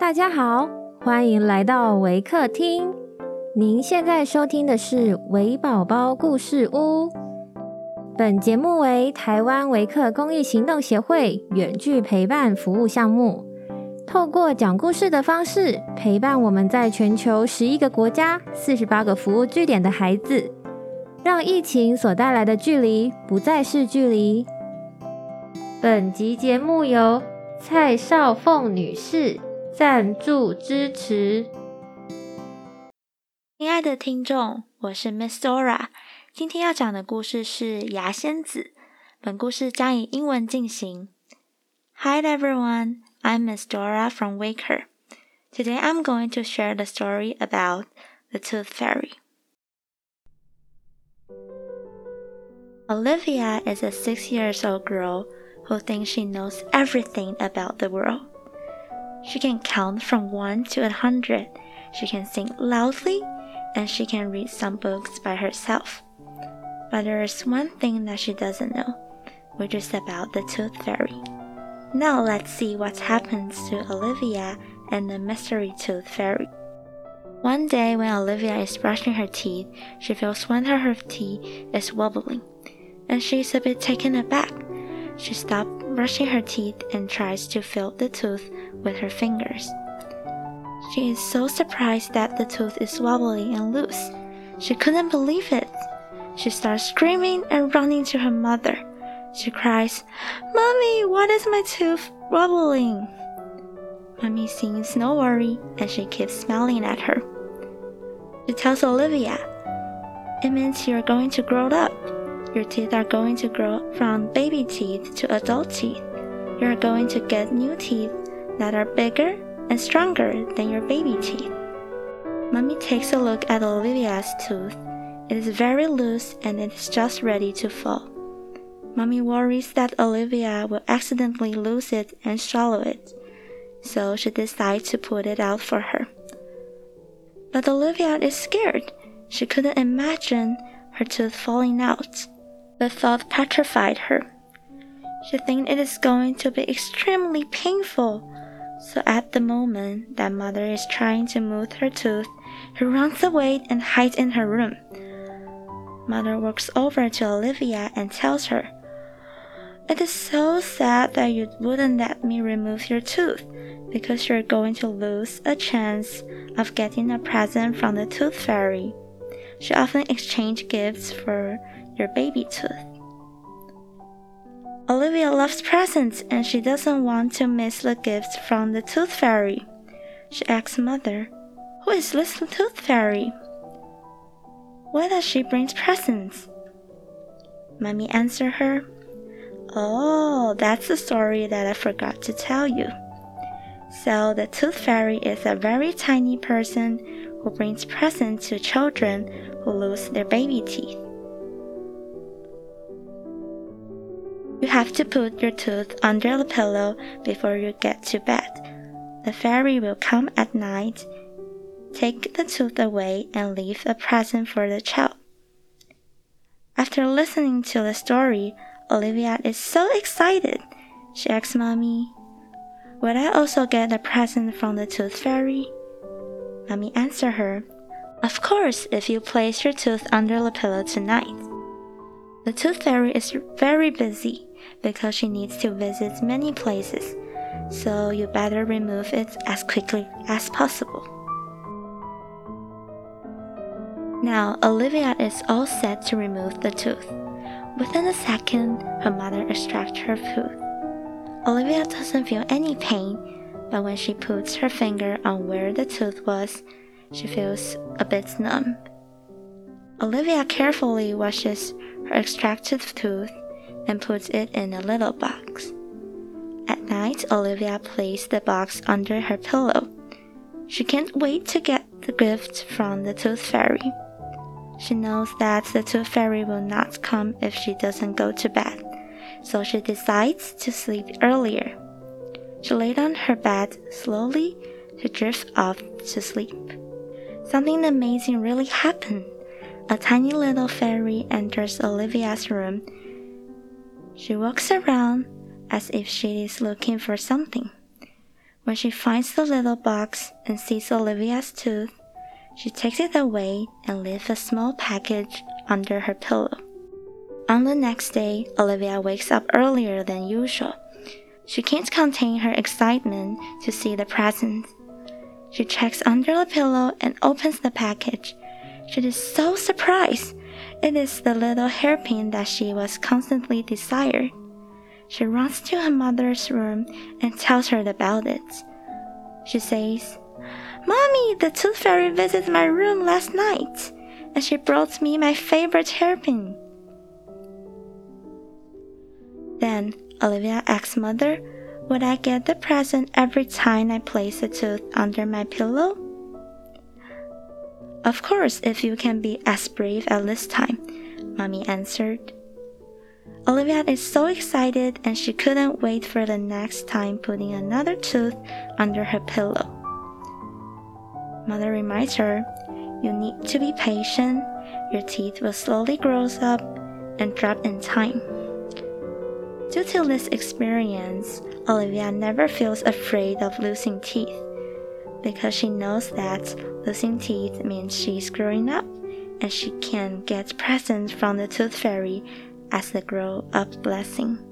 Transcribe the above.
大家好，欢迎来到微客厅。您现在收听的是微宝宝故事屋。本节目为台湾微客公益行动协会远距陪伴服务项目，透过讲故事的方式，陪伴我们在全球11个国家、48个服务据点的孩子，让疫情所带来的距离不再是距离。本集节目由蔡少凤女士赞助支持。 亲爱的听众，我是 Miss Dora， 今天要讲的故事是牙仙子。本故事将以英文进行。Hi everyone, I'm Miss Dora from Waker. Today I'm going to share the story about the Tooth Fairy. Olivia is a 6-year-old girl who thinks she knows everything about the world. She can count from 1 to 100. She can sing loudly, and she can read some books by herself. But there is one thing that she doesn't know, which is about the Tooth Fairy. Now let's see what happens to Olivia and the Mystery Tooth Fairy. One day when Olivia is brushing her teeth, she feels one of her teeth is wobbling, and she is a bit taken aback. She stops brushing her teeth and tries to feel the tooth with her fingers. She is so surprised that the tooth is wobbly and loose. She couldn't believe it. She starts screaming and running to her mother. She cries, "Mommy, why is my tooth wobbling?" Mommy seems no worry, and she keeps smiling at her. She tells Olivia, "It means you're going to grow up. Your teeth are going to grow from baby teeth to adult teeth. You're going to get new teeth that are bigger and stronger than your baby teeth." Mommy takes a look at Olivia's tooth. It is very loose and it is just ready to fall. Mommy worries that Olivia will accidentally lose it and swallow it, so she decides to put it out for her. But Olivia is scared. She couldn't imagine her tooth falling out. The thought petrified her. She thinks it is going to be extremely painful. So at the moment that Mother is trying to move her tooth, she runs away and hides in her room. Mother walks over to Olivia and tells her, "It is so sad that you wouldn't let me remove your tooth, because you're going to lose a chance of getting a present from the Tooth Fairy. She often exchanges gifts for your baby tooth." Olivia loves presents and she doesn't want to miss the gifts from the Tooth Fairy. She asks Mother, "Who is this Tooth Fairy? Why does she bring presents?" Mommy answers her, "Oh, that's the story that I forgot to tell you. So the Tooth Fairy is a very tiny person who brings presents to children who lose their baby teeth. You have to put your tooth under the pillow before you get to bed. The fairy will come at night, take the tooth away, and leave a present for the child." After listening to the story, Olivia is so excited. She asks Mommy, "Will I also get a present from the Tooth Fairy?" Mommy answers her, "Of course, if you place your tooth under the pillow tonight." The Tooth Fairy is very busy because she needs to visit many places, so you better remove it as quickly as possible. Now, Olivia is all set to remove the tooth. Within a second, her mother extracts her tooth. Olivia doesn't feel any pain, but when she puts her finger on where the tooth was, she feels a bit numb. Olivia carefully washes her extracted tooth and puts it in a little box. At night, Olivia places the box under her pillow. She can't wait to get the gift from the Tooth Fairy. She knows that the Tooth Fairy will not come if she doesn't go to bed, so she decides to sleep earlier. She laid on her bed slowly to drift off to sleep. Something amazing really happened. A tiny little fairy enters Olivia's room. She walks around as if she is looking for something. When she finds the little box and sees Olivia's tooth, she takes it away and leaves a small package under her pillow. On the next day, Olivia wakes up earlier than usual. She can't contain her excitement to see the present. She checks under the pillow and opens the package. She is so surprised. It is the little hairpin that she was constantly desired. She runs to her mother's room and tells her about it. She says, "Mommy, the tooth fairy visited my room last night, and she brought me my favorite hairpin." Then Olivia asks Mother, "Would I get the present every time I place a tooth under my pillow?" "Of course, if you can be as brave as this time," Mommy answered. Olivia is so excited and she couldn't wait for the next time putting another tooth under her pillow. Mother reminds her, "You need to be patient. Your teeth will slowly grow up and drop in time." Due to this experience, Olivia never feels afraid of losing teeth, because she knows that losing teeth means she's growing up and she can get presents from the tooth fairy as the grow-up blessing.